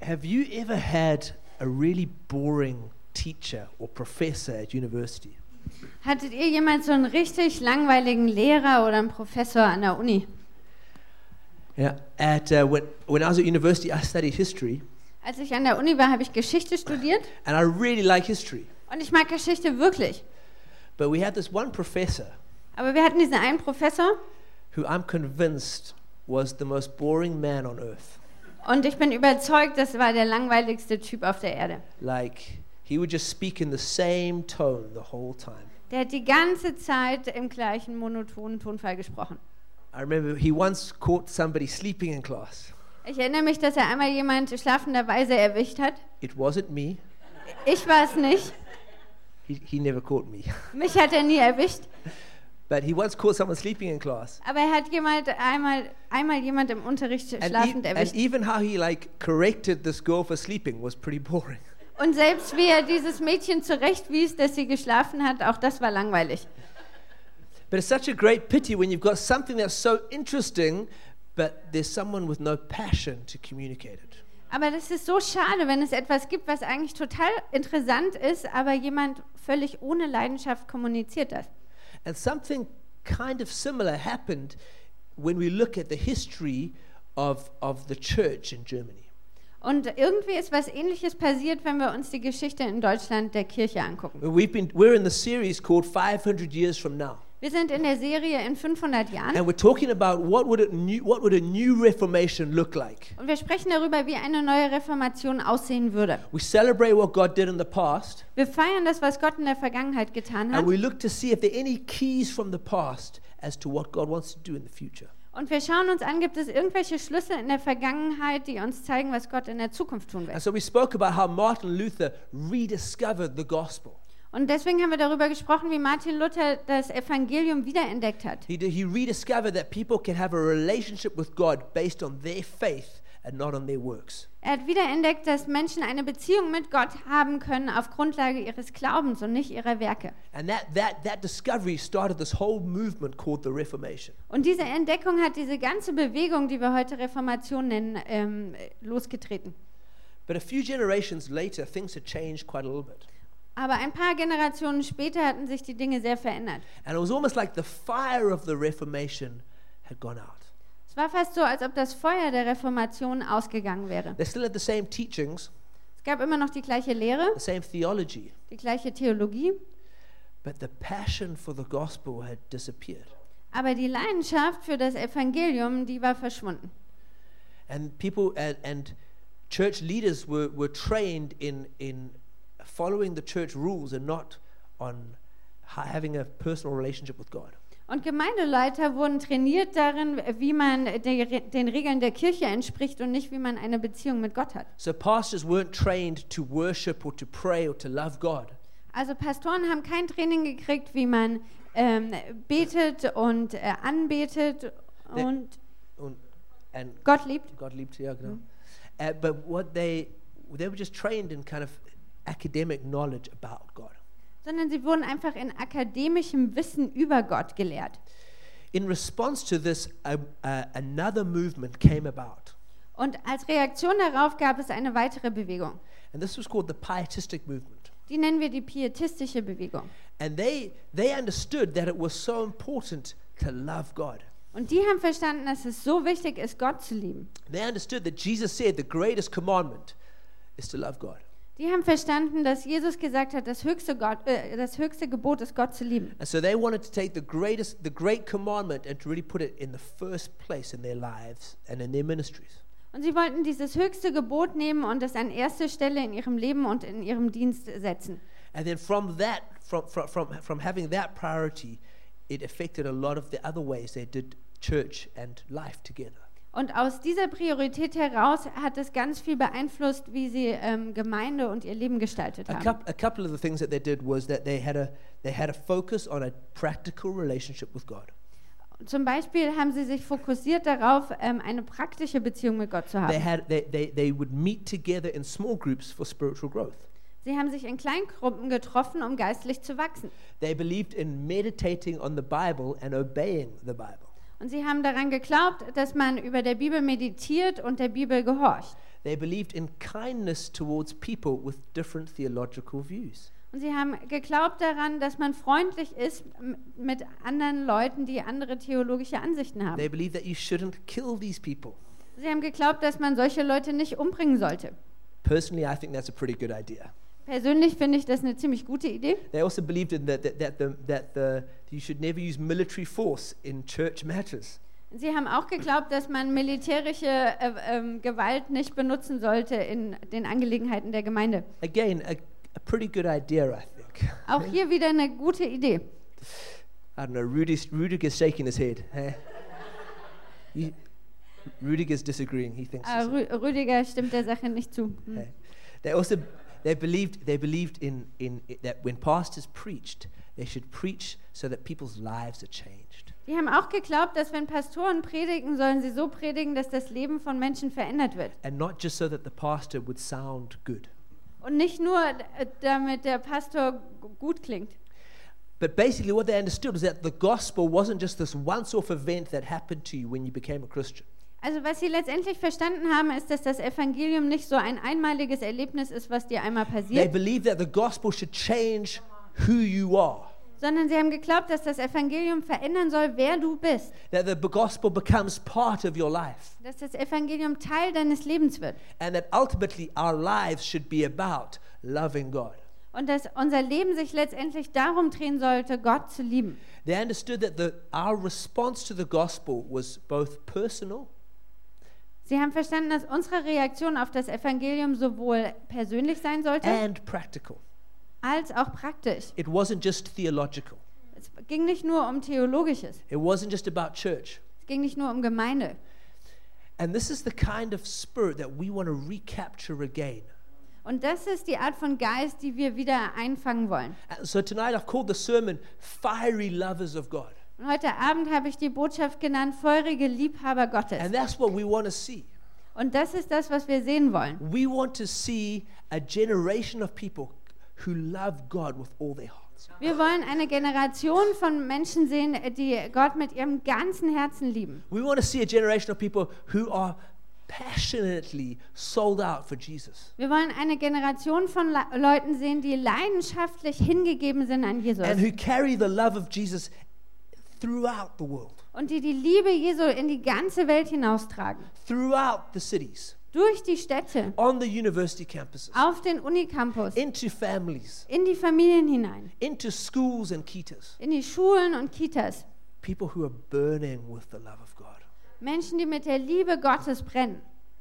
Have you ever had a really boring teacher or professor at university? Hattet ihr jemals so einen richtig langweiligen Lehrer oder einen Professor an der Uni? Yeah. When I was at university, I studied history, Als ich an der Uni war, habe ich Geschichte studiert and I really like history. und ich mag Geschichte wirklich. But we had this one professor Aber wir hatten diesen einen Professor who I'm convinced was the most boring man on earth. und ich bin überzeugt, das war der langweiligste Typ auf der Erde. Like, he would just speak in the same tone the whole time. Der hat die ganze Zeit im gleichen monotonen Tonfall gesprochen. I remember he once caught somebody sleeping in class. Ich erinnere mich, dass er einmal jemand schlafenderweise erwischt hat. It wasn't me. Ich war es nicht. He never caught me. Mich hat er nie erwischt. But he once caught someone sleeping in class. Aber er hat einmal jemand im Unterricht schlafend And erwischt. even how he corrected this girl for sleeping was pretty boring. Und selbst wie er dieses Mädchen zurechtwies, dass sie geschlafen hat, auch das war langweilig. But it's such a great pity when you've got something that's so interesting, but there's someone with no passion to communicate it. Aber das ist so schade, wenn es etwas gibt, was eigentlich total interessant ist, aber jemand völlig ohne Leidenschaft kommuniziert das. And something kind of similar happened when we look at the history of the church in Germany. Und irgendwie ist was Ähnliches passiert, wenn wir uns die Geschichte in Deutschland der Kirche angucken. We're in the series called 500 Years from Now. Wir sind in der Serie in 500 Jahren And we're talking about what would a new Reformation look like. und wir sprechen darüber, wie eine neue Reformation aussehen würde. We celebrate what God did in the past, Wir feiern das, was Gott in der Vergangenheit getan hat. and we look to see if there are any keys from the past as to what God wants to do in the future. Und wir schauen uns an, gibt es irgendwelche Schlüssel in der Vergangenheit, die uns zeigen, was Gott in der Zukunft tun And wird. so we spoke about how Martin Luther rediscovered the gospel. Und deswegen haben wir darüber gesprochen, wie Martin Luther das Evangelium wiederentdeckt hat. He rediscovered that people can have a relationship with God based on their faith and not on their works. Er hat wiederentdeckt, dass Menschen eine Beziehung mit Gott haben können auf Grundlage ihres Glaubens und nicht ihrer Werke. And that discovery started this whole movement called the Reformation. Und diese Entdeckung hat diese ganze Bewegung, die wir heute Reformation nennen, losgetreten. But a few generations later, things had changed quite a little bit. Aber ein paar Generationen später hatten sich die Dinge sehr verändert. And it was almost like the fire of the Reformation had gone out. Es war fast so, als ob das Feuer der Reformation ausgegangen wäre. They still had the same teachings, Es gab immer noch die gleiche Lehre, the same theology, die gleiche Theologie, but the passion for the gospel had disappeared. aber die Leidenschaft für das Evangelium, die war verschwunden. And people and church leaders were trained in following the church rules and not on having a personal relationship with God. Und Gemeindeleiter wurden trainiert darin, wie man den Regeln der Kirche entspricht und nicht, wie man eine Beziehung mit Gott hat. So pastors weren't trained to worship or to pray or to love God. Also Pastoren haben kein Training gekriegt, wie man betet und anbetet und And Gott liebt. God liebt, ja, genau. But what they were just trained in kind of academic knowledge about God. Sondern sie wurden einfach in akademischem Wissen über Gott gelehrt. In response to this, another movement came about. Und als Reaktion darauf gab es eine weitere Bewegung. And this was called the Pietistic movement. Die nennen wir die pietistische Bewegung. And they understood that it was so important to love God. Und die haben verstanden, dass es so wichtig ist, Gott zu lieben. They understood that Jesus said the greatest commandment is to love God. Die haben verstanden, dass Jesus gesagt hat, das höchste Gebot ist, Gott zu lieben. And so they wanted to take the great commandment and to really put it in the first place in their lives and in their ministries. Und sie wollten dieses höchste Gebot nehmen und es an erste Stelle in ihrem Leben und in ihrem Dienst setzen. And then from having that priority, it affected a lot of the other ways they did church and life together. Und aus dieser Priorität heraus hat es ganz viel beeinflusst, wie sie Gemeinde und ihr Leben gestaltet haben. A couple of the things that they did was that they had a focus on a practical relationship with God. Zum Beispiel haben sie sich fokussiert darauf, eine praktische Beziehung mit Gott zu haben. They would meet together in small groups for spiritual growth. Sie haben sich in Kleingruppen getroffen, um geistlich zu wachsen. They believed in meditating on the Bible and obeying the Bible. Und sie haben daran geglaubt, dass man über der Bibel meditiert und der Bibel gehorcht. They believed in kindness towards people with different theological views. Und sie haben geglaubt daran, dass man freundlich ist mit anderen Leuten, die andere theologische Ansichten haben. They believed that you shouldn't kill these people. Sie haben geglaubt, dass man solche Leute nicht umbringen sollte. Personally, I think that's a pretty good idea. Persönlich finde ich das eine ziemlich gute Idee. They also believed in you should never use military force in church matters. Sie haben auch geglaubt, dass man militärische Gewalt nicht benutzen sollte in den Angelegenheiten der Gemeinde. Again, a pretty good idea, I think. Auch hier wieder eine gute Idee. I don't know, Rudiger's shaking his head. Rudiger's disagreeing. He thinks. Rüdiger stimmt der Sache nicht zu. They believed in that when pastors preached, they should preach so that people's lives are changed. Die haben auch geglaubt, dass wenn Pastoren predigen, sollen sie so predigen, dass das Leben von Menschen verändert wird. And not just so that the pastor would sound good. Und nicht nur, damit der Pastor gut klingt. But basically what they understood was that the gospel wasn't just this once-off event that happened to you when you became a Christian. Also was sie letztendlich verstanden haben, ist, dass das Evangelium nicht so ein einmaliges Erlebnis ist, was dir einmal They passiert, believed that the gospel should change who you are. sondern sie haben geglaubt, dass das Evangelium verändern soll, wer du bist. That the gospel becomes part of your life. Dass das Evangelium Teil deines Lebens wird. And that ultimately our lives should be about loving God. Und dass unser Leben sich letztendlich darum drehen sollte, Gott zu lieben. They understood that our response to the gospel was both personal Sie haben verstanden, dass unsere Reaktion auf das Evangelium sowohl persönlich sein sollte, and practical. als auch praktisch. It wasn't just theological. Es ging nicht nur um Theologisches. It wasn't just about church. Es ging nicht nur um Gemeinde. And this is the kind of spirit that we want to recapture again. Und das ist die Art von Geist, die wir wieder einfangen wollen. And so tonight I've called the sermon Fiery Lovers of God. Und heute Abend habe ich die Botschaft genannt, feurige Liebhaber Gottes. And that's what we want to see. Und das ist das, was wir sehen wollen. We want to see a generation of people who love God with all their hearts. Wir wollen eine Generation von Menschen sehen, die Gott mit ihrem ganzen Herzen lieben. We want to see a generation of people who are passionately sold out for Jesus. Wir wollen eine Generation von Leuten sehen, die leidenschaftlich hingegeben sind an Jesus. And who carry the love of Jesus throughout the world, Und die die Liebe Jesu in die ganze Welt hinaustragen. throughout the cities, Durch die Städte, on the university campuses, auf den Unicampus, into families, in die Familien hinein, into schools and kitas. in die Schulen und Kitas. People who are burning with the love of God. Menschen, die mit der Liebe Gottes brennen.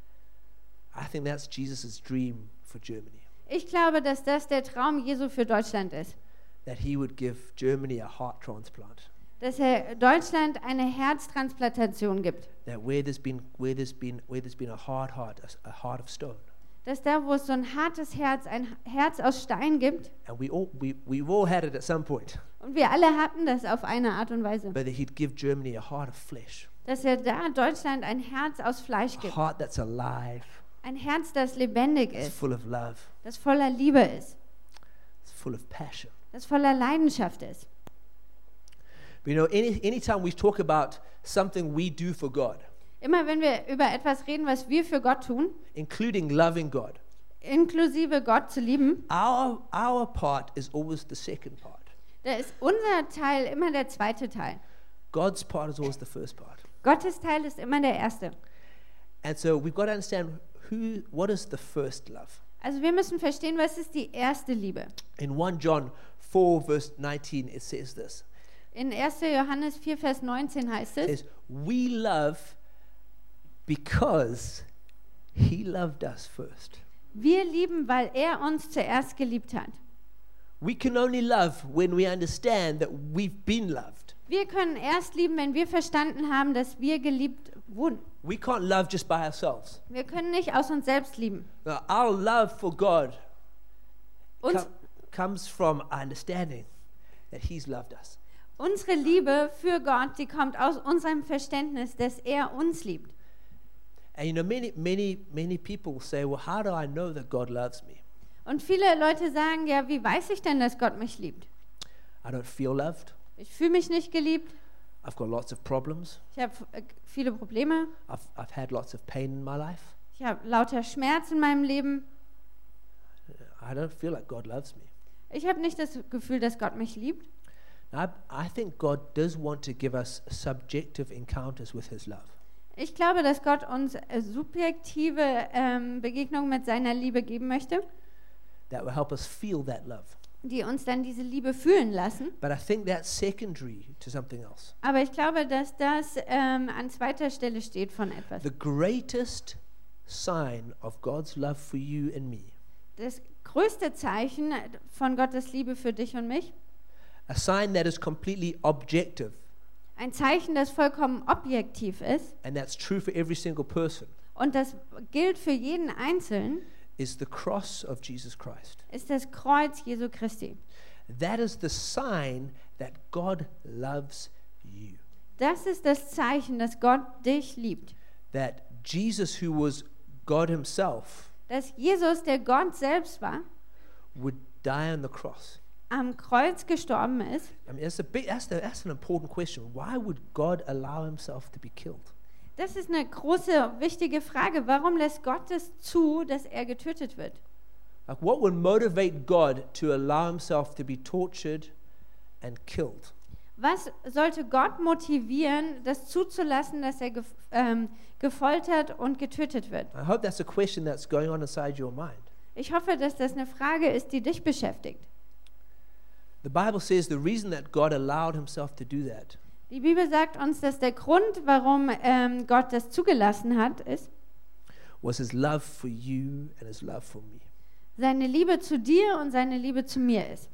I think that's Jesus' dream for Germany, Ich glaube, dass das der Traum Jesu für Deutschland ist. that he would give Germany a heart transplant. Dass er Deutschland eine Herztransplantation gibt. That where there's been a hard heart, a heart of stone. Dass da, wo es so ein hartes Herz, ein Herz aus Stein gibt, And we've all had it at some point. und wir alle hatten das auf eine Art und Weise, But that he'd give Germany a heart of flesh. dass er da Deutschland ein Herz aus Fleisch A gibt. heart that's alive, Ein Herz, das lebendig that's ist, full of love, das voller Liebe ist, it's full of passion. das voller Leidenschaft ist. But you know, anytime we talk about something we do for God, Immer wenn wir über etwas reden, was wir für Gott tun, including loving God, inklusive Gott zu lieben, our part is always the second part. da ist unser Teil immer der zweite Teil. God's part is always the first part. Gottes Teil ist immer der erste. And so we've got to understand what is the first love. Also wir müssen verstehen, was ist die erste Liebe. In 1 John 4 verse 19 it says this. In 1. Johannes 4, Vers 19 heißt It es, says, we love because he loved us first. wir lieben, weil er uns zuerst geliebt hat. We can only love when we understand that we've been loved. Wir können erst lieben, wenn wir verstanden haben, dass wir geliebt wurden. We can't love just by ourselves. Wir können nicht aus uns selbst lieben. Now, our love for God Uns, comes from understanding that he's loved us. unsere Liebe für Gott, die kommt aus unserem Verständnis, dass er uns liebt. And you know, many people say, well, how do I know that God loves me? Und viele Leute sagen, ja, wie weiß ich denn, dass Gott mich liebt? I don't feel loved. Ich fühle mich nicht geliebt. I've got lots of problems. Ich habe viele Probleme. I've had lots of pain in my life. Ich habe lauter Schmerz in meinem Leben. I don't feel like God loves me. Ich habe nicht das Gefühl, dass Gott mich liebt. I think God does want to give us subjective encounters with His love. Ich glaube, dass Gott uns subjektive Begegnungen mit seiner Liebe geben möchte, That will help us feel that love. die uns dann diese Liebe fühlen lassen. But I think that's secondary to something else. Aber ich glaube, dass das an zweiter Stelle steht von etwas. The greatest sign of God's love for you and me, Das größte Zeichen von Gottes Liebe für dich und mich, a sign that is completely objective, ein Zeichen, das vollkommen objektiv ist and that's true for every single person, und das gilt für jeden Einzelnen, is the cross of Jesus Christ. ist das Kreuz Jesu Christi. That is the sign that God loves you. Das ist das Zeichen, dass Gott dich liebt. That Jesus, who was God Himself, Dass Jesus, der Gott selbst war, would die on the cross. am Kreuz gestorben ist. I mean, that's an important question. Why would God allow Himself to be killed? Das ist eine große, wichtige Frage. Warum lässt Gott es zu, dass er getötet wird? Like, what would motivate God to allow Himself to be tortured and killed? Was sollte Gott motivieren, das zuzulassen, dass er gefoltert und getötet wird? I hope that's a question that's going on inside your mind. Ich hoffe, dass das eine Frage ist, die dich beschäftigt. The Bible says the reason that God allowed Himself to do that Die Bibel sagt uns, dass der Grund, warum Gott das zugelassen hat, ist was His love for you and His love for me. seine Liebe zu dir und seine Liebe zu mir ist.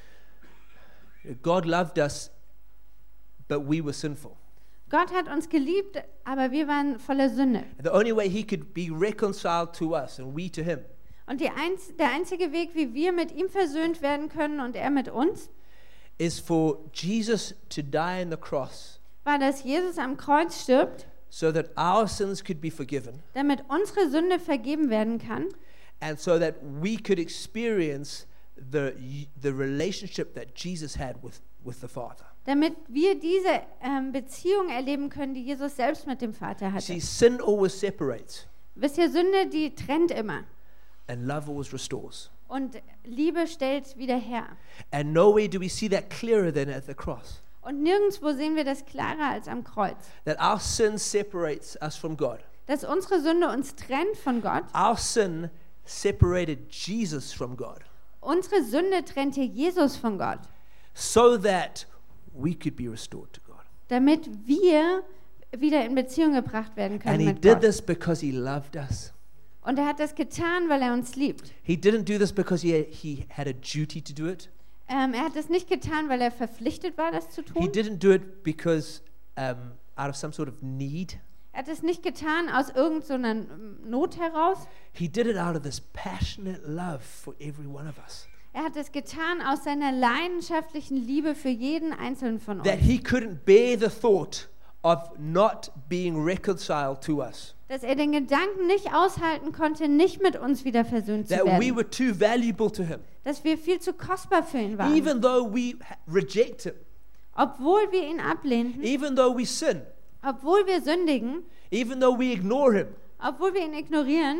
God loved us, but we were sinful. Gott hat uns geliebt, aber wir waren voller Sünde. The only way He could be reconciled to us and we to Him Und der einzige Weg, wie wir mit ihm versöhnt werden können und er mit uns, is for Jesus to die on the cross war, dass Jesus am Kreuz stirbt, so that our sins could be forgiven damit unsere Sünde vergeben werden kann and so that we could experience the relationship that Jesus had with the Father. damit wir diese Beziehung erleben können, die Jesus selbst mit dem Vater hatte. See, sin always separates Wisst ihr, Sünde, die trennt immer. and love always restores. Und Liebe stellt wieder her. And nowhere do we see that clearer than at the cross. Und nirgendwo sehen wir das klarer als am Kreuz. That our sin separates us from God. Dass unsere Sünde uns trennt von Gott. Our sin separated Jesus from God Unsere Sünde trennte Jesus von Gott. so that we could be restored to God. Damit wir wieder in Beziehung gebracht werden können And He mit did Gott. this because He loved us. Und er hat das getan, weil er uns liebt. He didn't do this because he had a duty to do it. Er hat das nicht getan, weil er verpflichtet war, das zu He tun. didn't do it because out of some sort of need. Er hat es nicht getan aus irgendeiner Not heraus. He did it out of this passionate love for every one of us. Er hat es getan aus seiner leidenschaftlichen Liebe für jeden Einzelnen von uns. That He couldn't bear the thought of not being reconciled to us. Dass er den Gedanken nicht aushalten konnte, nicht mit uns wieder versöhnt zu That we werden. were too valuable to Him. Dass wir viel zu kostbar für ihn waren. Even though we reject Him. Obwohl wir ihn ablehnten, Even though we sin. obwohl wir sündigen, Even though we ignore Him. obwohl wir ihn ignorieren,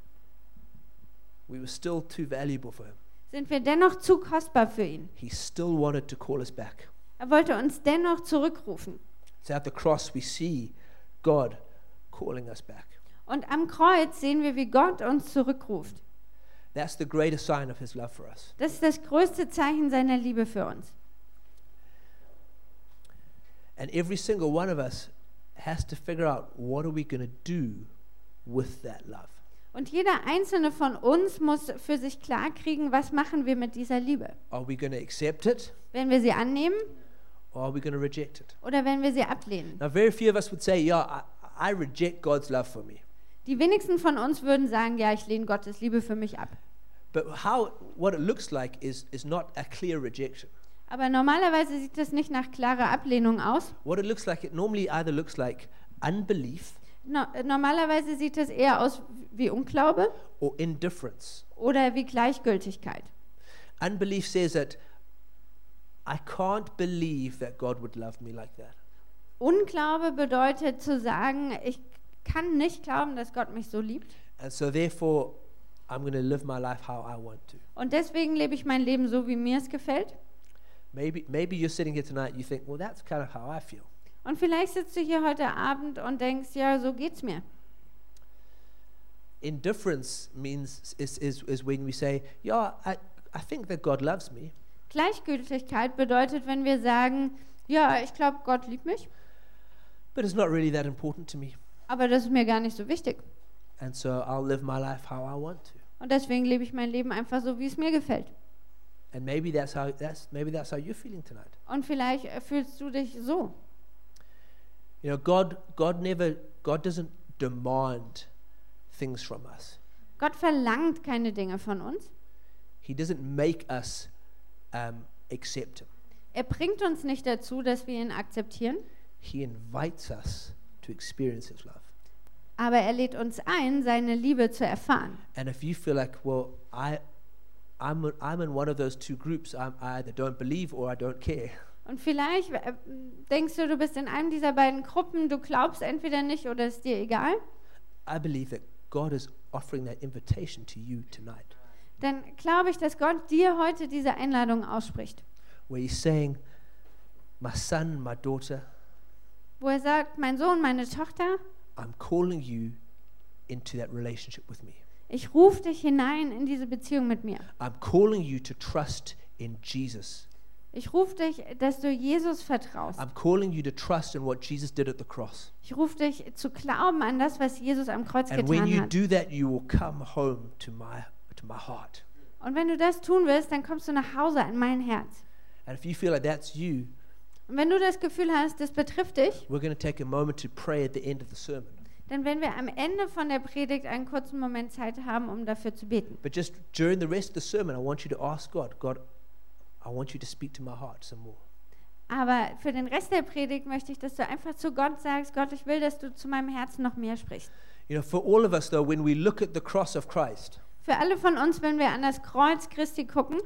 We were still too valuable for Him. sind wir dennoch zu kostbar für ihn. He still wanted to call us back. Er wollte uns dennoch zurückrufen. So at the cross we see God calling us back. Und am Kreuz sehen wir, wie Gott uns zurückruft. That's the greatest sign of His love for us. Das ist das größte Zeichen seiner Liebe für uns. And every single one of us has to figure out, what are we going to do with that love? Und jeder einzelne von uns muss für sich klarkriegen, was machen wir mit dieser Liebe? Are we going to accept it, Wenn wir sie annehmen or are we going to reject it? oder wenn wir sie ablehnen? Now, very few of us would say, yeah, I reject God's love for me. Die wenigsten von uns würden sagen, ja, ich lehne Gottes Liebe für mich ab. But what it looks like is not a clear rejection. Aber normalerweise sieht es nicht nach klarer Ablehnung aus. What it normally either looks like unbelief Normalerweise sieht es eher aus wie Unglaube or indifference. oder wie Gleichgültigkeit. Unbelief says that I can't believe that God would love me like that. Unglaube bedeutet zu sagen, ich kann nicht glauben, dass Gott mich so liebt. And so therefore, I'm going to live my life how I want to. Und deswegen lebe ich mein Leben so, wie mir es gefällt. Maybe you're sitting here tonight and you think, well, that's kind of how I feel. Und vielleicht sitzt du hier heute Abend und denkst, ja, so geht's mir. Indifference means is when we say, yeah, I think that God loves me, Gleichgültigkeit bedeutet, wenn wir sagen, ja, ich glaube, Gott liebt mich, but it's not really that important to me. aber das ist mir gar nicht so wichtig. And so I'll live my life how I want to. Und deswegen lebe ich mein Leben einfach so, wie es mir gefällt. And maybe that's how you're feeling tonight. Und vielleicht fühlst du dich so. You know, God doesn't demand things from us. Gott verlangt keine Dinge von uns. He doesn't make us accept him. Er bringt uns nicht dazu, dass wir ihn akzeptieren, He invites us to experience his love. aber er lädt uns ein, seine Liebe zu erfahren. And if you feel like, well, I'm in one of those two groups, I either don't believe or I don't care. Und vielleicht denkst du, du bist in einem dieser beiden Gruppen, du glaubst entweder nicht oder ist dir egal. I believe that God is offering that invitation to you tonight, Dann glaube ich, dass Gott dir heute diese Einladung ausspricht, where he's saying, my son, my daughter, wo er sagt, mein Sohn, meine Tochter, I'm calling you into that relationship with me. ich rufe dich hinein in diese Beziehung mit mir. I'm calling you to trust in Jesus. Ich rufe dich, dass du Jesus vertraust. I'm calling you to trust in what Jesus did at the cross. Ich rufe dich zu glauben an das, was Jesus am Kreuz And when getan you hat. do that, you will come home to my heart. Und wenn du das tun willst, dann kommst du nach Hause an mein Herz. And if you feel like that's you, Und wenn du das Gefühl hast, das betrifft dich, we're going to take a moment to pray at the end of the sermon. dann werden wir am Ende von der Predigt einen kurzen Moment Zeit haben, um dafür zu beten. But just during the rest of the sermon, I want you to ask God, God, I want you to speak to my heart some more. Aber für den Rest der Predigt möchte ich, dass du einfach zu Gott sagst, Gott, ich will, dass du zu meinem Herzen noch mehr sprichst. You know, for all of us though, when we look at the cross of Christ, Für alle von uns, wenn wir an das Kreuz Christi gucken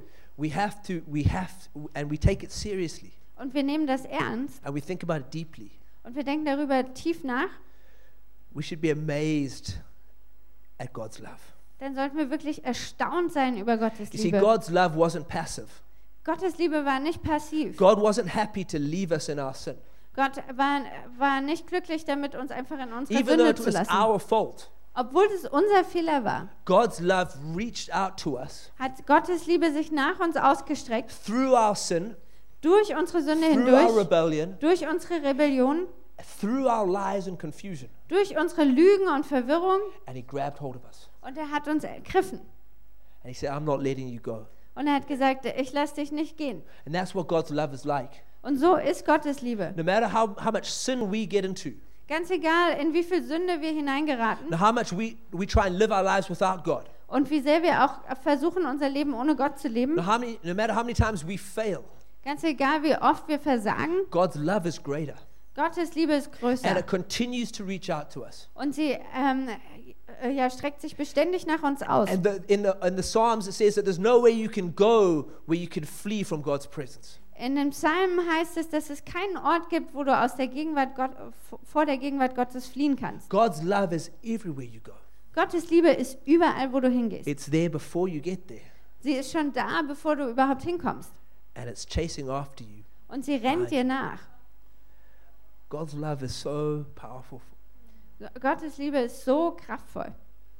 and we take it seriously, und wir nehmen das ernst and we think about it deeply, und wir denken darüber tief nach, we should be amazed at God's love. dann sollten wir wirklich erstaunt sein über Gottes You see, Liebe. God's love wasn't passive. Gottes Liebe war nicht passiv. God wasn't happy to leave us in our sin. Gott war nicht glücklich damit, uns einfach in unserer Even though Sünde it zu was lassen. our fault, Obwohl es unser Fehler war, God's love reached out to us hat Gottes Liebe sich nach uns ausgestreckt, through our sin, durch unsere Sünde through our hindurch, rebellion, durch unsere Rebellion, through our lies and confusion, durch unsere Lügen und Verwirrung, and he grabbed hold of us. und er hat uns ergriffen. And he said, I'm not letting you go. Und er hat gesagt, ich lasse dich nicht gehen. And that's what God's love is like. Und so ist Gottes Liebe. No matter how much sin we get into, Ganz egal, in wie viel Sünde wir hineingeraten and how much we try and live our lives without God, und wie sehr wir auch versuchen, unser Leben ohne Gott zu leben, no matter how many times we fail, ganz egal, wie oft wir versagen, God's love is greater. Gottes Liebe ist And größer. it continues to reach out to us. Und sie streckt sich beständig nach uns aus. And in the Psalms it says that there's no way you can go where you can flee from God's presence. In den Psalmen heißt es, dass es keinen Ort gibt, wo du aus der vor der Gegenwart Gottes fliehen kannst. God's love is everywhere you go. Gottes Liebe ist überall, wo du hingehst. It's there before you get there. Sie ist schon da, bevor du überhaupt hinkommst. And it's chasing after you. Und sie rennt dir nach. God's love is so powerful. Gottes Liebe ist so kraftvoll.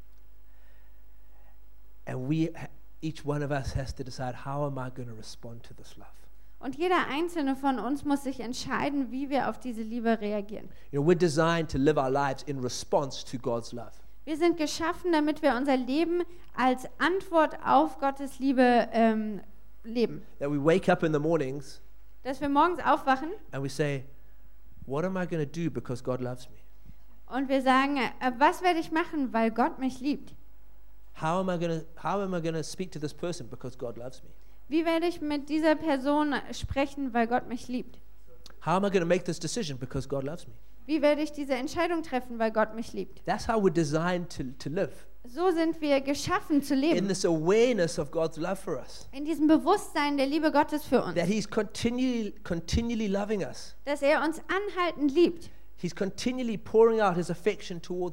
And each one of us has to decide, how am I going to respond to this love? Und jeder einzelne von uns muss sich entscheiden, wie wir auf diese Liebe reagieren. You know, we're designed to live our lives in response to God's love. Wir sind geschaffen, damit wir unser Leben als Antwort auf Gottes Liebe leben. That we wake up in the mornings Dass wir morgens aufwachen and we say, what am I going to do because God loves me? und wir sagen, was werde ich machen, weil Gott mich liebt? How am I going to speak to this person because God loves me? Wie werde ich mit dieser Person sprechen, weil Gott mich liebt? How am I going to make this decision because God loves me? Wie werde ich diese Entscheidung treffen, weil Gott mich liebt? That's how we're designed to live. So sind wir geschaffen zu In leben. this awareness of God's love for us. In diesem Bewusstsein der Liebe Gottes für uns. That He's continually loving us. Dass er uns anhaltend liebt. He's continually pouring out His affection towards us.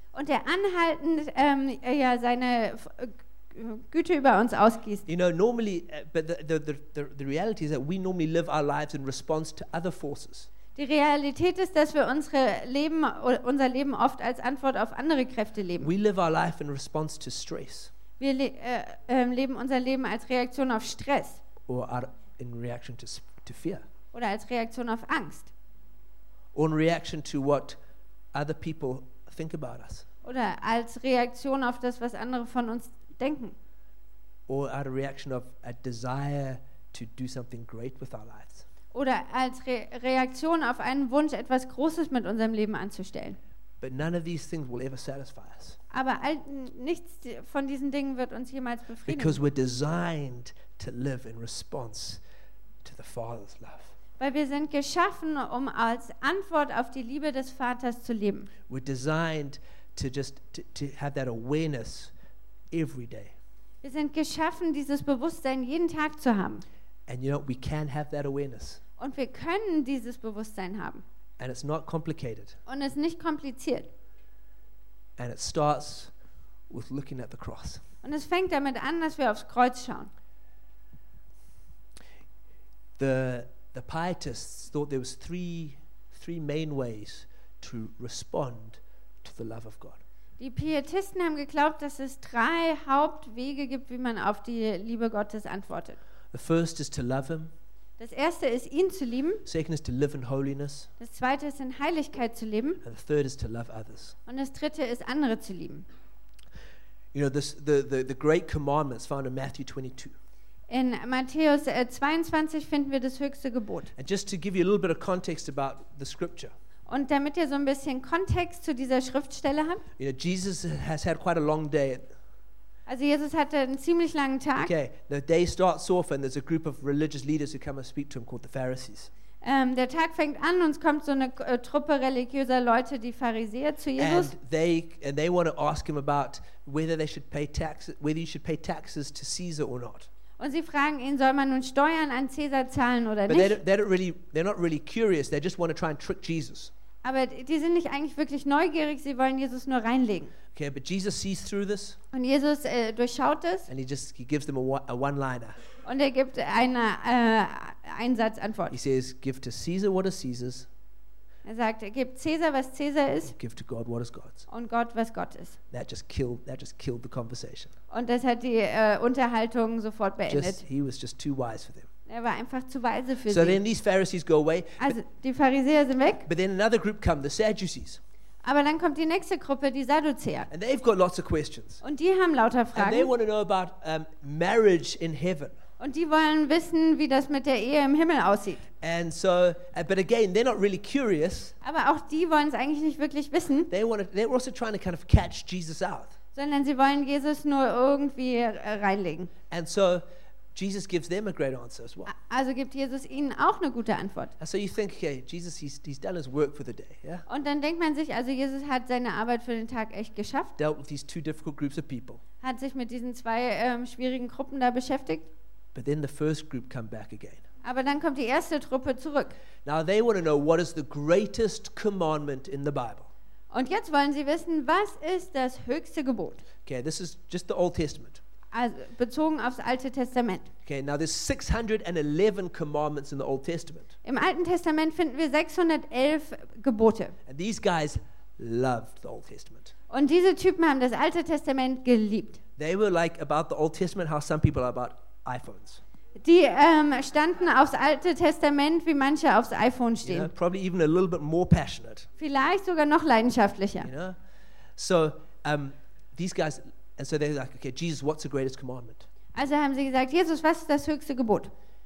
Und der anhaltend seine Güte über uns ausgießt. You know, normally, but the reality is that we normally live our lives in response to other forces. Die Realität ist, dass wir unser Leben oft als Antwort auf andere Kräfte leben. We live our life in response to stress Wir leben unser Leben als Reaktion auf Stress or in reaction to fear oder als Reaktion auf Angst or in reaction to what other people think about us oder als Reaktion auf das, was andere von uns denken or out of reaction of a desire to do something great with our lives. oder als Reaktion auf einen Wunsch, etwas Großes mit unserem Leben anzustellen. But none of these things will ever satisfy us Aber nichts von diesen Dingen wird uns jemals befriedigen. because we're designed to live in response to the Father's love. Weil wir sind geschaffen, um als Antwort auf die Liebe des Vaters zu leben. We're designed to just to have that awareness every day. Wir sind geschaffen, dieses Bewusstsein jeden Tag zu haben. And you know, we can have that awareness. Und wir können dieses Bewusstsein haben. And it's not complicated. Und es ist nicht kompliziert. And it starts with looking at the cross. Und es fängt damit an, dass wir aufs Kreuz schauen. The pietists thought there was three main ways to respond to the love of God. Die Pietisten haben geglaubt, dass es 3 Hauptwege gibt, wie man auf die Liebe Gottes antwortet. The first is to love Him. Das erste ist, ihn zu lieben. Second is to live in holiness. Das zweite ist, in Heiligkeit zu leben. And the third is to love others. Und das dritte ist, andere zu lieben. You know, the great commandments found in Matthew 22. In Matthäus 22 finden wir das höchste Gebot. And just to give you a little bit of context about the scripture. Und damit ihr so ein bisschen Kontext zu dieser Schriftstelle habt. You know, Jesus has had quite a long day. Also Jesus hatte einen ziemlich langen Tag. Okay, the day starts off and there's a group of religious leaders who come and speak to him called the Pharisees. Der Tag fängt an und es kommt so eine Truppe religiöser Leute, die Pharisäer, zu Jesus. And they want to ask him about whether you should pay taxes to Caesar or not. Und sie fragen ihn, soll man nun Steuern an Cäsar zahlen oder But nicht? they're not really curious. They just want to try and trick Jesus. Aber die sind nicht eigentlich wirklich neugierig, sie wollen Jesus nur reinlegen. Okay, but Jesus sees through this Und Jesus durchschaut es and he gives them a one-liner. und er gibt eine Einsatzantwort. He says, "Give to Caesar what is Caesar's, Er sagt, gebt Cäsar, was Cäsar ist, give to God what is God's." und Gott, was Gott ist. That just killed the conversation. Und das hat die Unterhaltung sofort beendet. He was just too wise for them. Er war einfach zu weise für So sie. then these Pharisees go away. Also die Pharisäer sind weg, But then another group come, the Sadducees, aber dann kommt die nächste Gruppe, die Sadduzäer. and they've got lots of questions. Und die haben lauter And they Fragen. want to know about marriage in heaven. Und die wollen wissen, wie das mit der Ehe im Himmel aussieht. And so, but again, they're not really curious. Aber auch die wollen es eigentlich nicht wirklich wissen, They're also trying to kind of catch Jesus out. sondern sie wollen Jesus nur irgendwie reinlegen. And so, Jesus gives them a great answer as well. Also gibt Jesus ihnen auch eine gute Antwort. And so you think, okay, Jesus, he's done his work for the day, yeah? Und dann denkt man sich, also Jesus hat seine Arbeit für den Tag echt geschafft, Dealt with these two difficult groups of people. hat sich mit diesen 2 schwierigen Gruppen da beschäftigt. But then the first group come back again. Aber dann kommt die erste Truppe zurück. Now they want to know what is the greatest commandment in the Bible. Und jetzt wollen sie wissen, was ist das höchste Gebot? Okay, this is just the Old Testament. Also bezogen aufs Alte Testament. Okay, now there's 611 commandments in the Old Testament. Im Alten Testament finden wir 611 Gebote. And these guys loved the Old Testament. Und diese Typen haben das Alte Testament geliebt. They were like about the Old Testament how some people are about iPhones. Die standen aufs Alte Testament, wie manche aufs iPhone You know, stehen. probably even a little bit more passionate. Vielleicht sogar noch leidenschaftlicher. You know, so these guys, and so they're like, okay, Jesus, what's the greatest commandment? Also haben sie gesagt, Jesus, was ist das höchste Gebot?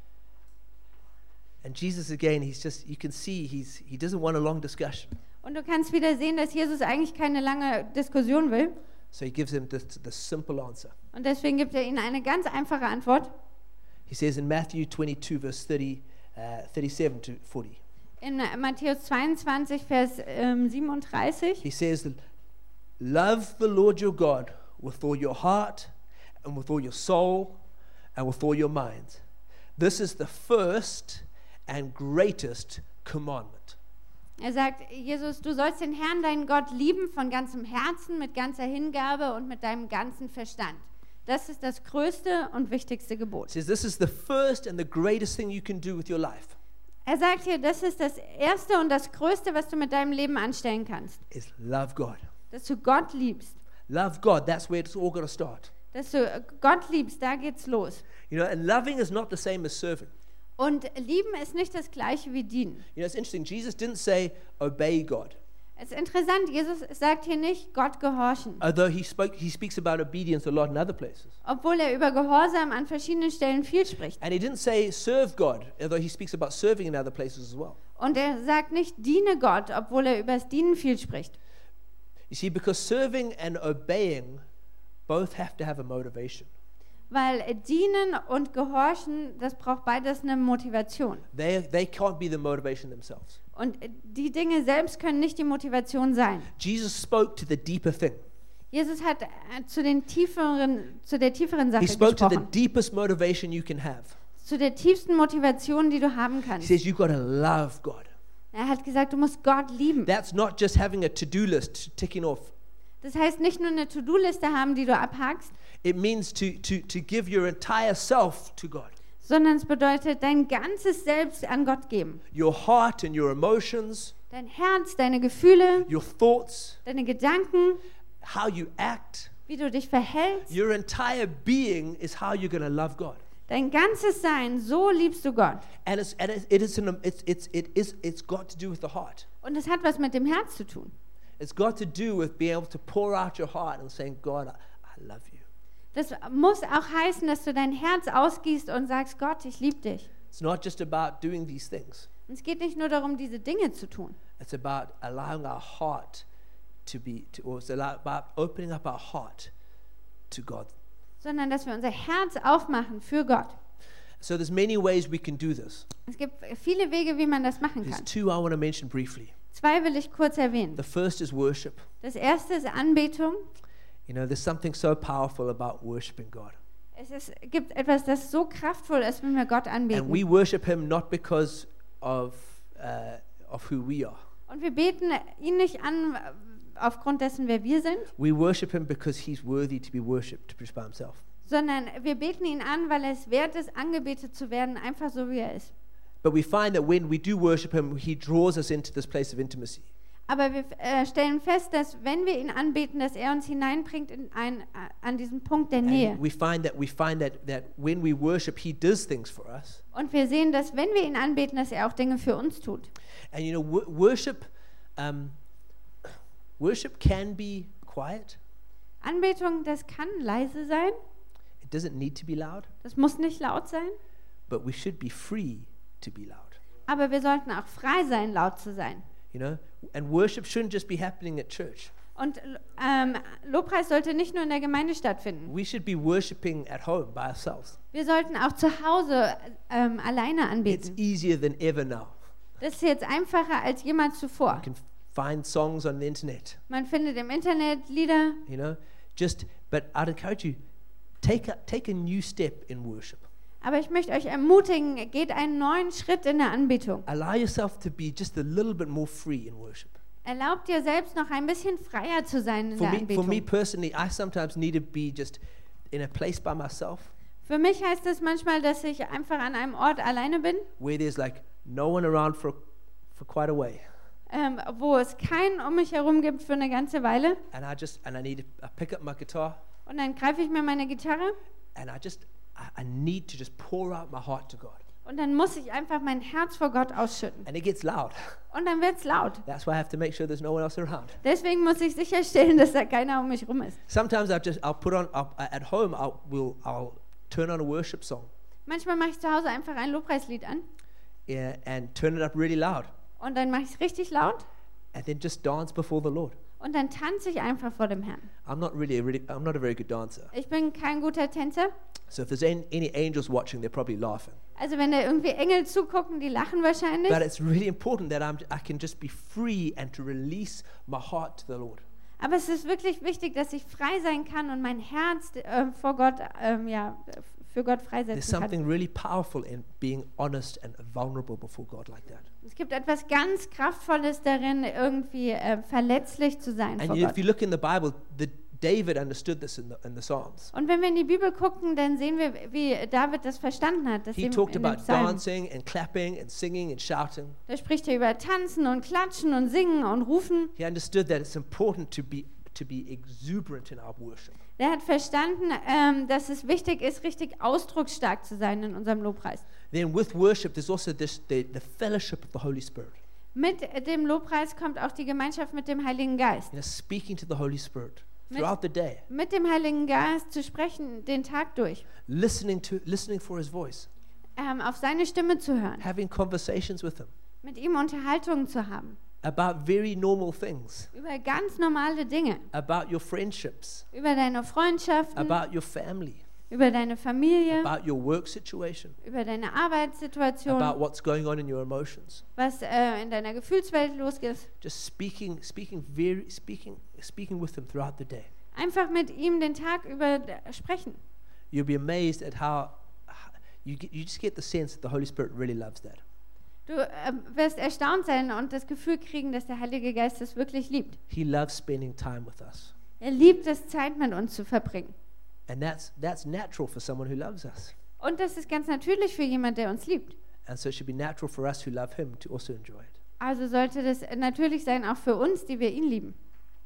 And Jesus again, you can see he doesn't want a long discussion. Und du kannst wieder sehen, dass Jesus eigentlich keine lange Diskussion will. So he gives them the simple answer. Und deswegen gibt er ihnen eine ganz einfache Antwort. He says in Matthew 22, verse 37 to 40. In Matthäus 22, Vers 37. He says, "Love the Lord your God with all your heart and with all your soul and with all your mind. This is the first and greatest commandment." Er sagt, Jesus, du sollst den Herrn, deinen Gott, lieben von ganzem Herzen, mit ganzer Hingabe und mit deinem ganzen Verstand. Das ist das größte und wichtigste Gebot. He says this is the first and the greatest thing you can do with your life. Er sagt hier, das ist das Erste und das Größte, was du mit deinem Leben anstellen kannst. Is love God. Dass du Gott liebst. Love God, that's where it's all got to start. Dass du Gott liebst, da geht's los. You know, and loving is not the same as serving. Und lieben ist nicht das Gleiche wie dienen. You know, it's interesting. Jesus didn't say obey God. Es ist interessant, Jesus sagt hier nicht Gott gehorchen. Although he speaks about obedience a lot in other places. Obwohl er über Gehorsam an verschiedenen Stellen viel spricht. And he didn't say serve God, although he speaks about serving in other places as well. Und er sagt nicht diene Gott, obwohl er über das Dienen viel spricht. You see, because serving and obeying both have to have a motivation. Weil dienen und gehorchen, das braucht beides eine Motivation. They can't be the motivation themselves. Und die Dinge selbst können nicht die Motivation sein. Jesus spoke to the deeper thing. Jesus hat zu der tieferen Sache He spoke to the gesprochen. deepest motivation you can have. Zu der tiefsten Motivation, die du haben He kannst. says you've got to love God. Er hat gesagt, du musst Gott lieben. That's not just having a to-do list ticking off. Das heißt, nicht nur eine To-Do-Liste haben, die du abhakst, It means to give your entire self to God. sondern es bedeutet, dein ganzes Selbst an Gott geben. Your heart and your emotions, Dein Herz, deine Gefühle, your thoughts, deine Gedanken, how you act, wie du dich verhältst, your entire being is how you're going to love God. dein ganzes Sein, so liebst du Gott. And it's got to do with the heart. Und es hat was mit dem Herz zu tun. It's got to do with being able to pour out your heart and saying, God, I love you. Das muss auch heißen, dass du dein Herz ausgießt und sagst, Gott, ich liebe dich. It's not just about doing these things. Und es geht nicht nur darum, diese Dinge zu tun, It's about allowing our heart or it's about opening up our heart to God. sondern dass wir unser Herz aufmachen für Gott. So there's many ways we can do this. Es gibt viele Wege, wie man das machen There's kann. two I want to mention briefly. 2 will ich kurz erwähnen. The first is worship. Das erste ist Anbetung. You know, there's something so powerful about worshiping God. Gibt etwas, das so kraftvoll ist, wenn wir Gott And we anbeten. worship Him not because of who we are. Und wir beten ihn nicht an aufgrund dessen, wer wir sind, We worship Him because He's worthy to be worshipped by Himself. sondern wir beten ihn an, weil er es wert ist, angebetet zu werden, einfach so wie er ist. But we find that when we do worship Him, He draws us into this place of intimacy. Aber wir stellen fest, dass wenn wir ihn anbeten, dass er uns hineinbringt an diesen Punkt der Nähe. And we find that when we worship, He does things for us. Und wir sehen, dass wenn wir ihn anbeten, dass er auch Dinge für uns tut. And you know, worship can be quiet. Anbetung, das kann leise sein, It doesn't need to be loud, das muss nicht laut sein, but we should be free to be loud. aber wir sollten auch frei sein, laut zu sein. You know, and worship shouldn't just be happening at church. Und Lobpreis sollte nicht nur in der Gemeinde stattfinden. We should be worshiping at home by ourselves. Wir sollten auch zu Hause alleine It's anbeten. easier than ever now. Das ist jetzt einfacher als jemals zuvor. You can find songs on the internet, Man findet im Internet Lieder, you know. But I'd encourage you, take a new step in worship. aber ich möchte euch ermutigen, geht einen neuen Schritt in der Anbetung. Allow yourself to be just a little bit more free in worship. Erlaubt dir selbst noch ein bisschen freier zu sein in der For me Anbetung. personally, I sometimes need to be just in a place by myself Für mich heißt es manchmal, dass ich einfach an einem Ort alleine bin, where there's like no one around for quite a way, wo es keinen um mich herum gibt für eine ganze Weile. and I pick up my guitar, Und dann greife ich mir meine Gitarre and I need to just pour out my heart to God, und dann muss ich einfach mein Herz vor Gott ausschütten. and it gets loud. Und dann wird es laut. That's why I have to make sure there's no one else around. Deswegen muss ich sicherstellen, dass da keiner um mich rum ist. Sometimes at home I'll turn on a worship song, Manchmal mache ich zu Hause einfach ein Lobpreislied an yeah, and turn it up really loud, und dann mache ich es richtig laut and then just dance before the Lord. und dann tanze ich einfach vor dem Herrn. I'm not a very good dancer. Ich bin kein guter Tänzer. So if there's any angels watching, they're probably laughing. Also wenn da irgendwie Engel zugucken, die lachen wahrscheinlich. But it's really important that I can just be free and to release my heart to the Lord. Aber es ist wirklich wichtig, dass ich frei sein kann und mein Herz vor Gott für Gott There's freisetzen kann. something really powerful in being honest and vulnerable before God like that. Es gibt etwas ganz Kraftvolles darin, irgendwie verletzlich zu sein And vor if Gott. you look in the Bible, David understood this in the Psalms. Und wenn wir in die Bibel gucken, dann sehen wir, wie David das verstanden hat. Das He sehen wir talked in den about Psalmen. dancing and clapping and singing and shouting. Da spricht er über Tanzen und Klatschen und Singen und Rufen. He understood that it's important to be exuberant in our worship. Der hat verstanden, dass es wichtig ist, richtig ausdrucksstark zu sein in unserem Lobpreis. Then with worship, there's also the fellowship of the Holy Spirit. Mit dem Lobpreis kommt auch die Gemeinschaft mit dem Heiligen Geist. Speaking to the Holy Spirit Mit- throughout the day, Mit dem Heiligen Geist zu sprechen, den Tag durch. listening for His voice, Auf seine Stimme zu hören. having conversations with Him Mit ihm Unterhaltungen zu haben. about very normal things, Über ganz normale Dinge. about your friendships, Über deine Freundschaften. about your family, Über deine Familie. about your work situation, Über deine Arbeitssituation. about what's going on in your emotions. Was in deiner Gefühlswelt losgeht. Just speaking with Him throughout the day. Einfach mit ihm den Tag über sprechen. You'll be amazed at how you just get the sense that the Holy Spirit really loves that. Du wirst erstaunt sein und das Gefühl kriegen, dass der Heilige Geist es wirklich liebt. He loves spending time with us. Er liebt es, Zeit mit uns zu verbringen. And that's natural for someone who loves us. Und das ist ganz natürlich für jemand, der uns liebt. And so it should be natural for us who love Him to also enjoy it. Also sollte das natürlich sein, auch für uns, die wir ihn lieben.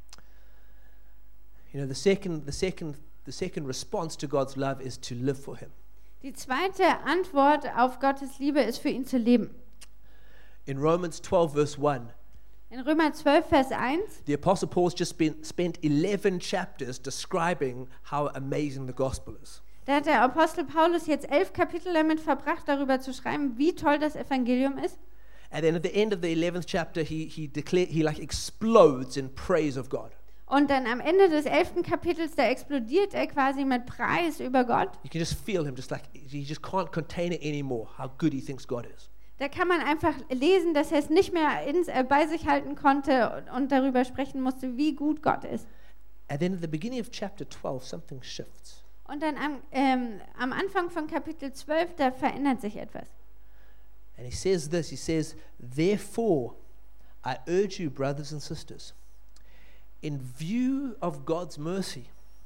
You know, the second response to God's love is to live for Him. Die zweite Antwort auf Gottes Liebe ist, für ihn zu leben. In Romans 12, verse 1, In Römer 12, Vers 1, the Apostle Paul's just spent 11 chapters describing how amazing the gospel is. da hat der Apostel Paulus jetzt 11 Kapitel damit verbracht, darüber zu schreiben, wie toll das Evangelium ist. And then at the end of the 11th chapter, he explodes in praise of God. Und dann am Ende des 11. Kapitels, da explodiert er quasi mit Preis über Gott. You can just feel him, just like he just can't contain it anymore, how good he thinks God is. Da kann man einfach lesen, dass er es nicht mehr bei sich halten konnte und darüber sprechen musste, wie gut Gott ist. And then at the beginning of chapter 12, something shifts. Und dann am Anfang von Kapitel 12, da verändert sich etwas. And he says this, he says, "Therefore, I urge you, brothers and sisters, in view of God's mercy,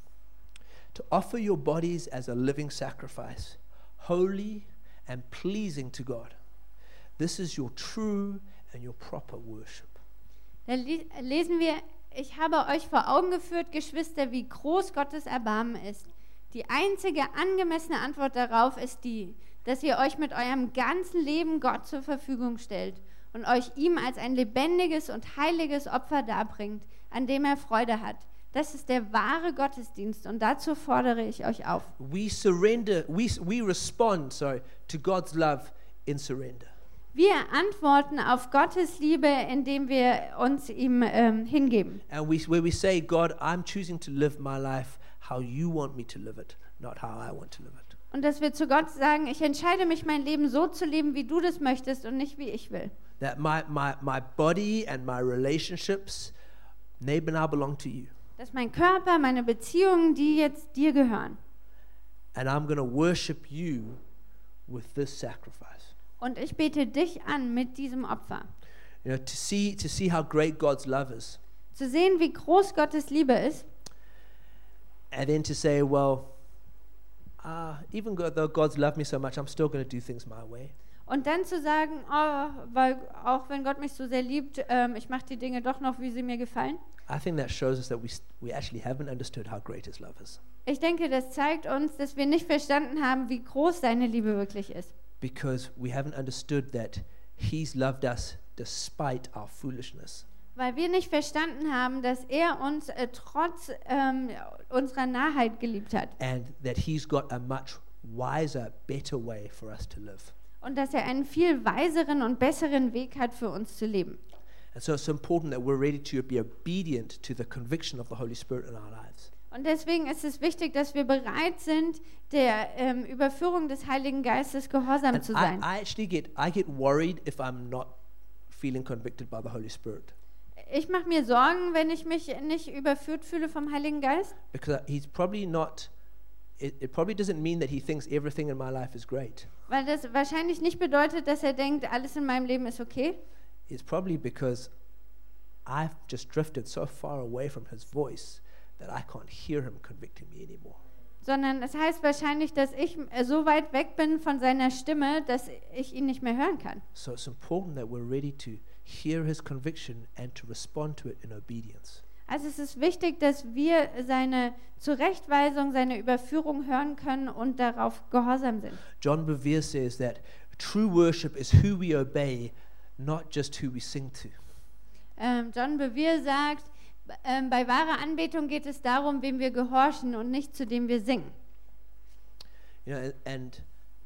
to offer your bodies as a living sacrifice, holy and pleasing to God. This is your true and your proper worship." Da lesen wir, ich habe euch vor Augen geführt, Geschwister, wie groß Gottes Erbarmen ist. Die einzige angemessene Antwort darauf ist die, dass ihr euch mit eurem ganzen Leben Gott zur Verfügung stellt und euch ihm als ein lebendiges und heiliges Opfer darbringt, an dem er Freude hat. Das ist der wahre Gottesdienst und dazu fordere ich euch auf. We respond to God's love in surrender. Wir antworten auf Gottes Liebe, indem wir uns ihm hingeben. And where we say, God, I'm choosing to live my life how you want me to live it, not how I want to live it. Und dass wir zu Gott sagen, ich entscheide mich, mein Leben so zu leben, wie du das möchtest und nicht, wie ich will. That my body and my relationships, they now belong to you. Dass mein Körper, meine Beziehungen, die jetzt dir gehören. And I'm going to worship you with this sacrifice. Und ich bete dich an mit diesem Opfer. You know, to see how great God's love is. Zu sehen, wie groß Gottes Liebe ist. And then to say, well, even though God's loved me so much, I'm still going to do things my way. Und dann zu sagen, weil auch wenn Gott mich so sehr liebt, ich mache die Dinge doch noch, wie sie mir gefallen. I think that shows us that we actually haven't understood how great His love is. Ich denke, das zeigt uns, dass wir nicht verstanden haben, wie groß seine Liebe wirklich ist. Because we haven't understood that He's loved us despite our foolishness. Weil wir nicht verstanden haben, dass er uns trotz unserer Narrheit geliebt hat. And that He's got a much wiser, better way for us to live. Und dass er einen viel weiseren und besseren Weg hat, für uns zu leben. And so it's important that we're ready to be obedient to the conviction of the Holy Spirit in our lives. Und deswegen ist es wichtig, dass wir bereit sind, der Überführung des Heiligen Geistes gehorsam And zu sein. I get worried if I'm not feeling convicted by the Holy Spirit. Ich mache mir Sorgen, wenn ich mich nicht überführt fühle vom Heiligen Geist, Because He's probably not it probably doesn't mean that he thinks everything in my life is great. Weil das wahrscheinlich nicht bedeutet, dass er denkt, alles in meinem Leben ist okay. It's probably because I've just drifted so far away from his voice that I can't hear him convicting me anymore. Sondern es heißt wahrscheinlich, dass ich so weit weg bin von seiner Stimme, dass ich ihn nicht mehr hören kann. So it's important that we're ready to hear his conviction and to respond to it in obedience. Also es ist wichtig, dass wir seine Zurechtweisung, seine Überführung hören können und darauf gehorsam sind. John Bevere says that true worship is who we obey, not just who we sing to. John Bevere sagt, bei wahrer Anbetung geht es darum, wem wir gehorchen und nicht zu dem wir singen. You know, and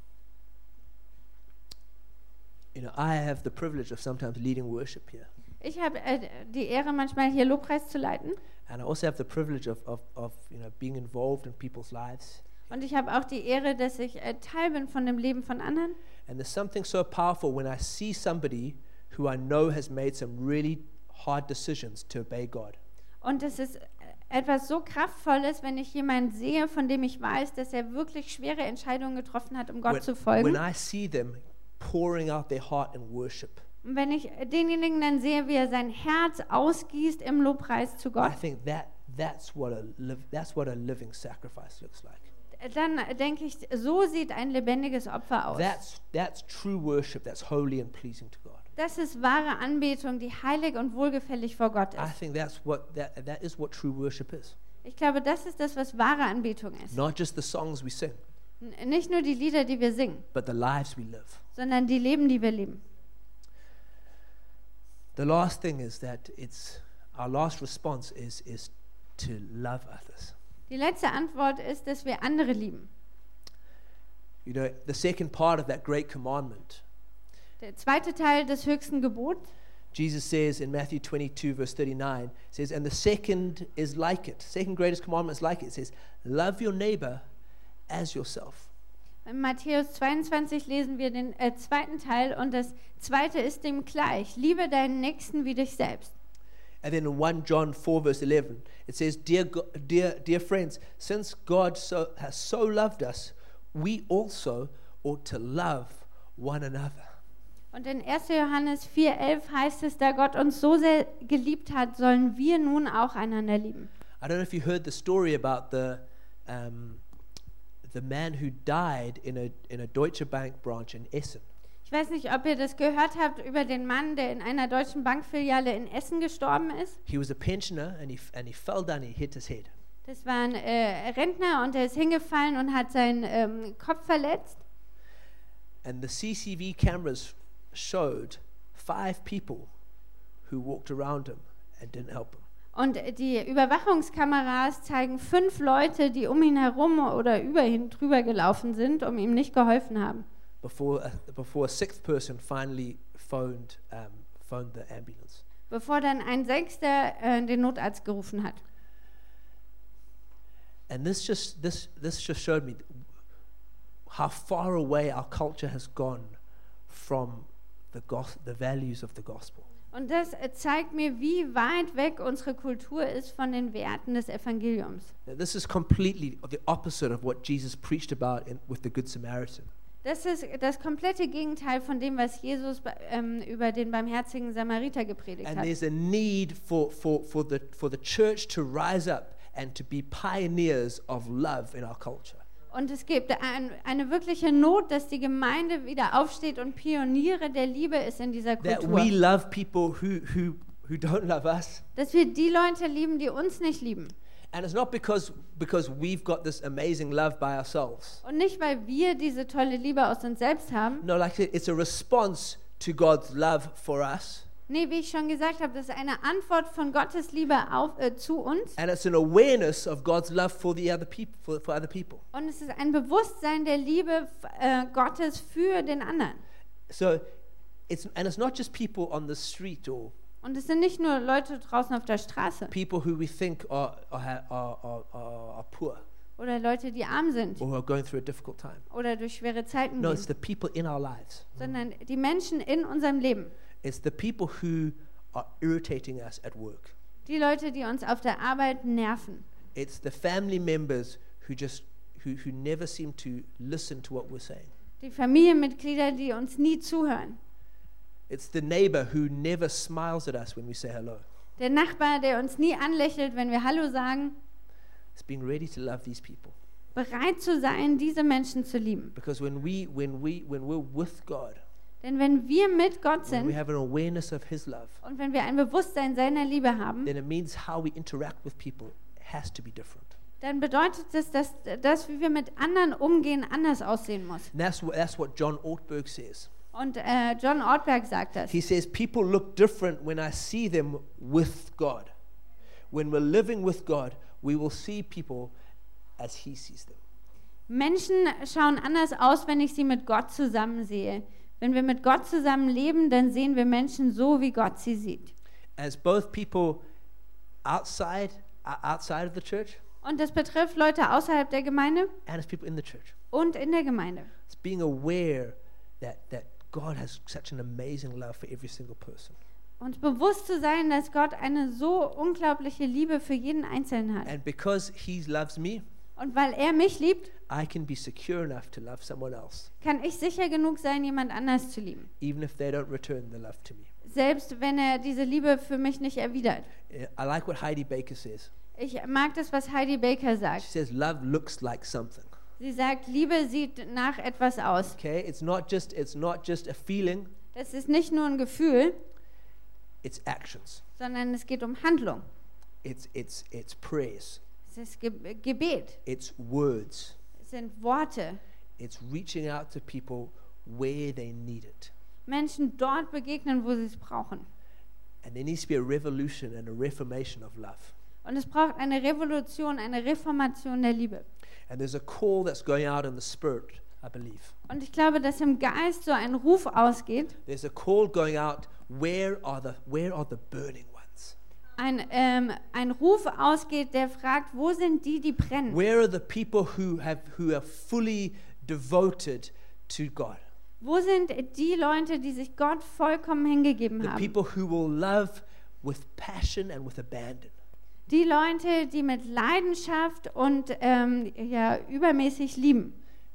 I have the privilege of sometimes leading worship here. Ich habe die Ehre, manchmal hier Lobpreis zu leiten. And I also have the privilege of being involved in people's lives. Und ich habe auch die Ehre, dass ich Teil bin von dem Leben von anderen. And there's something so powerful when I see somebody who I know has made some really hard decisions to obey God. Und es ist etwas so Kraftvolles, wenn ich jemanden sehe, von dem ich weiß, dass er wirklich schwere Entscheidungen getroffen hat, um Gott zu folgen. When I see them pouring out their heart in worship, Und wenn ich denjenigen dann sehe, wie er sein Herz ausgießt im Lobpreis zu Gott, I think that's what a living sacrifice looks like. dann denke ich, so sieht ein lebendiges Opfer aus. That's true worship. That's holy and pleasing to God. Das ist wahre Anbetung, die heilig und wohlgefällig vor Gott I ist. think that is what true worship is. Ich glaube, das ist das, was wahre Anbetung ist. Not just the songs we sing, Nicht nur die Lieder, die wir singen, but the lives we live. sondern die Leben, die wir leben. The last thing is that our last response is to love others. Die letzte Antwort ist, dass wir andere lieben. You know, the second part of that great commandment, Der zweite Teil des höchsten Gebots, Jesus says in Matthew 22 verse 39, says, and the second is like it. Second greatest commandment is like it. It says, love your neighbor as yourself. in Matthäus 22 lesen wir den zweiten Teil und das zweite ist dem gleich. Liebe deinen Nächsten wie dich selbst. And then in 1 John 4 verse 11, it says, dear friends, since God has so loved us, we also ought to love one another. Und in 1. Johannes 4,11 heißt es, da Gott uns so sehr geliebt hat, sollen wir nun auch einander lieben. I don't know if you heard the story about the man who died in a Deutsche Bank branch in Essen. Ich weiß nicht, ob ihr das gehört habt über den Mann, der in einer deutschen Bankfiliale in Essen gestorben ist. He was a pensioner and he fell down, he hit his head. Das war ein Rentner und der ist hingefallen und hat seinen Kopf verletzt. And the CCTV cameras showed 5 people who walked around him and didn't help him. Und die Überwachungskameras zeigen 5 Leute, die um ihn herum oder über ihn drüber gelaufen sind, um ihm nicht geholfen haben. Before a 6th person finally phoned the ambulance. Bevor dann ein Sechster den Notarzt gerufen hat. And this just showed me how far away our culture has gone from the values of the gospel. Und das zeigt mir, wie weit weg unsere Kultur ist von den Werten des Evangeliums. Now, this is completely the opposite of what Jesus preached about with the Good Samaritan. Das ist das komplette Gegenteil von dem, was Jesus über den barmherzigen Samariter gepredigt And hat. there's a need for the church to rise up and to be pioneers of love in our culture. Und es gibt eine wirkliche Not, dass die Gemeinde wieder aufsteht und Pioniere der Liebe ist in dieser That Kultur. we love people who don't love us. Dass wir die Leute lieben, die uns nicht lieben. And it's not because we've got this amazing love by ourselves. Und nicht, weil wir diese tolle Liebe aus uns selbst haben. No, like it's a response to God's love for us. Nee, wie ich schon gesagt habe, das ist eine Antwort von Gottes Liebe zu uns. And it's an awareness of God's love for the other people, for other people. Und es ist ein Bewusstsein der Liebe Gottes für den anderen. So it's not just people on the street or Und es sind nicht nur Leute draußen auf der Straße people who we think are poor oder Leute, die arm sind or who are going through a difficult time. oder durch schwere Zeiten No, gehen, it's the people in our lives. sondern die Menschen in unserem Leben. It's the people who are irritating us at work. Die Leute, die uns auf der Arbeit nerven. It's the family members who just who never seem to listen to what we're saying. Die Familienmitglieder, die uns nie zuhören. It's the neighbor who never smiles at us when we say hello. Der Nachbar, der uns nie anlächelt, wenn wir Hallo sagen. It's being ready to love these people. Bereit zu sein, diese Menschen zu lieben. Because when we're with God, Denn wenn wir mit Gott when we sind have an awareness of His love, und wenn wir ein Bewusstsein seiner Liebe haben, then it means how we interact with people has to be different. dann bedeutet es, dass wie wir mit anderen umgehen, anders aussehen muss. And that's what John Ortberg says. Und John Ortberg sagt das. He says, people look different when I see them with God. When we're living with God, we will see people as He sees them. Menschen schauen anders aus, wenn ich sie mit Gott zusammen sehe. Wenn wir mit Gott zusammen leben, dann sehen wir Menschen so, wie Gott sie sieht. As both people outside of the church Und das betrifft Leute außerhalb der Gemeinde and as people in the church. und in der Gemeinde. It's being aware that God has such an amazing love for every single person. Uns bewusst zu sein, dass Gott eine so unglaubliche Liebe für jeden Einzelnen hat. And because He loves me, Und weil er mich liebt, I can be secure enough to love someone else, kann ich sicher genug sein, jemand anders zu lieben. even if they don't return the love to me. Selbst wenn er diese Liebe für mich nicht erwidert. I like what Heidi Baker says. Ich mag das, was Heidi Baker She sagt. says, love looks like something. Sie sagt, Liebe sieht nach etwas aus. Okay, it's not just a feeling, Das ist nicht nur ein Gefühl, it's actions. sondern es geht um Handlung. It's prayers. Es ist Gebet. It's words. Es sind Worte. It's reaching out to people where they need it. Menschen dort begegnen, wo sie es brauchen. And there needs to be a revolution and a reformation of love. Und es braucht eine Revolution, eine Reformation der Liebe. And there's a call that's going out in the spirit, I believe. Und ich glaube, dass im Geist so ein Ruf ausgeht, There's a call going out, where are the burning ones? ein Ruf ausgeht, der fragt, wo sind die, die brennen? Where are the people who are fully devoted to God? Wo sind die Leute, die sich Gott vollkommen hingegeben The haben? people who will love with passion and with abandon. Die Leute, die mit Leidenschaft und übermäßig lieben.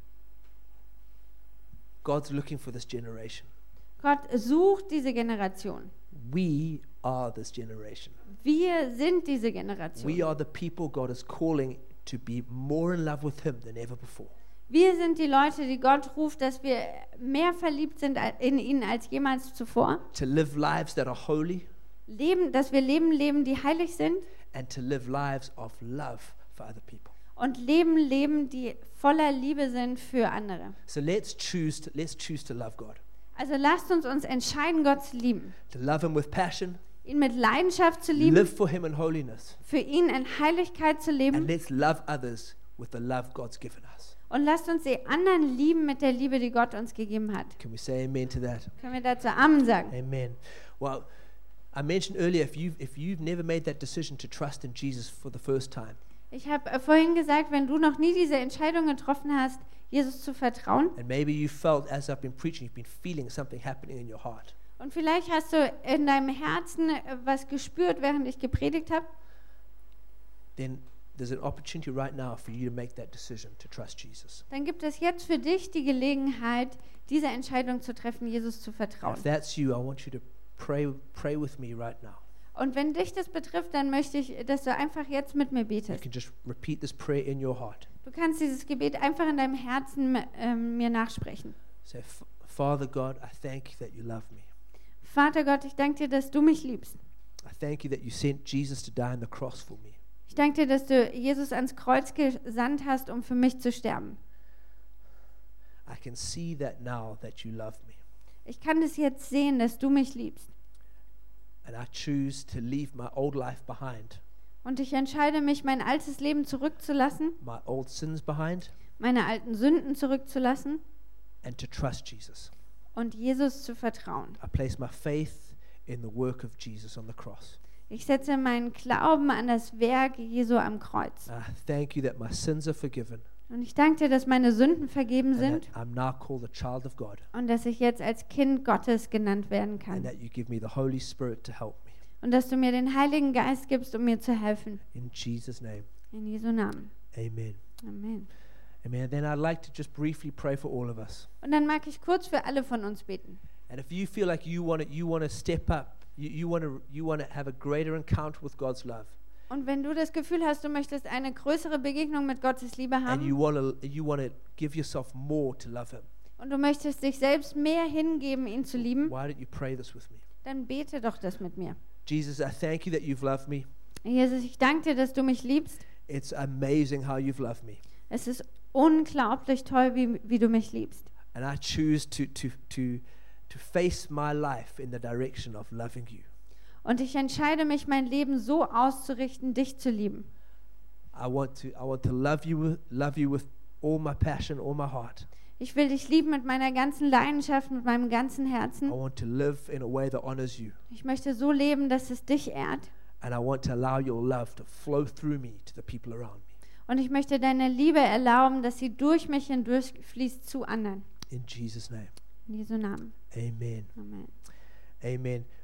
God's looking for this generation. Gott sucht diese Generation. We are this generation. Wir sind diese We Generation. are the people God is calling to be more in love with Him than ever before. Wir sind die Leute, die Gott ruft, dass wir mehr verliebt sind in ihn als jemals zuvor. To live lives that are holy Dass wir Leben leben, die heilig sind. and to live lives of love for other people. Und Leben, die voller Liebe sind für andere. So let's choose to love God. Also lasst uns entscheiden, Gott zu lieben. To love Him with passion, Ihn mit Leidenschaft zu lieben, live for Him in holiness, für ihn in Heiligkeit zu and leben. let's love others with the love God's given us. Und lasst uns die anderen lieben mit der Liebe, die Gott uns gegeben hat. Can we say amen to that? Können wir dazu Amen sagen? Amen. Well, I mentioned earlier, if you've never made that decision to trust in Jesus for the first time, Ich habe vorhin gesagt, wenn du noch nie diese Entscheidung getroffen hast, Jesus zu vertrauen, and maybe you felt as I've been preaching, you've been feeling something happening in your heart, und vielleicht hast du in deinem Herzen was gespürt, während ich gepredigt habe, then there's an opportunity right now for you to make that decision to trust Jesus. dann gibt es jetzt für dich die Gelegenheit, diese Entscheidung zu treffen, Jesus zu vertrauen. If that's you, I want you to pray with me right now. Und wenn dich das betrifft, dann möchte ich, dass du einfach jetzt mit mir You betest. can just repeat this prayer in your heart. Du kannst dieses Gebet einfach in deinem Herzen mir nachsprechen. Say, Father God, I thank you that you love me. Vater Gott, ich danke dir, dass du mich liebst. I thank you that you sent Jesus to die on the cross for me. Ich danke dir, dass du Jesus ans Kreuz gesandt hast, um für mich zu sterben. I can see that now that you love me. Ich kann das jetzt sehen, dass du mich liebst. And I choose to leave my old life behind, Und ich entscheide mich, mein altes Leben zurückzulassen, my old sins behind, meine alten Sünden zurückzulassen and to trust Jesus. und Jesus zu vertrauen. I place my faith in the work of Jesus on the cross. Ich setze meinen Glauben an das Werk Jesu am Kreuz. I thank you that my sins are forgiven Und ich danke dir, dass meine Sünden vergeben and sind that I'm now called a child of God und dass ich jetzt als Kind Gottes genannt werden and kann. that you give me the Holy Spirit to help me. Und dass du mir den Heiligen Geist gibst, um mir zu helfen. In Jesus' name, In Jesu Namen. amen. Amen. Amen. Then I'd like to just briefly pray for all of us. Und dann mag ich kurz für alle von uns beten. And if you feel like you want to step up, you want to have a greater encounter with God's love, Und wenn du das Gefühl hast, du möchtest eine größere Begegnung mit Gottes Liebe and you haben want to give yourself more to love Him, und du möchtest dich selbst mehr hingeben, ihn zu lieben, why don't you pray this with me? dann bete doch das mit mir. Jesus, I thank you that you've loved me. Jesus, ich danke dir, dass du mich liebst. It's amazing how you've loved me, Es ist unglaublich toll, wie du mich liebst. and I choose to face my life in the direction of loving you. Und ich entscheide mich, mein Leben so auszurichten, dich zu lieben. I want to love you with all my passion, all my heart. Ich will dich lieben mit meiner ganzen Leidenschaft, mit meinem ganzen I Herzen. want to live in a way that honors you, Ich möchte so leben, dass es dich ehrt. and I want to allow your love to flow through me to the people around me. Und ich möchte deine Liebe erlauben, dass sie durch mich hindurchfließt zu anderen. In Jesus' name, In Jesu Namen. amen. Amen. Amen.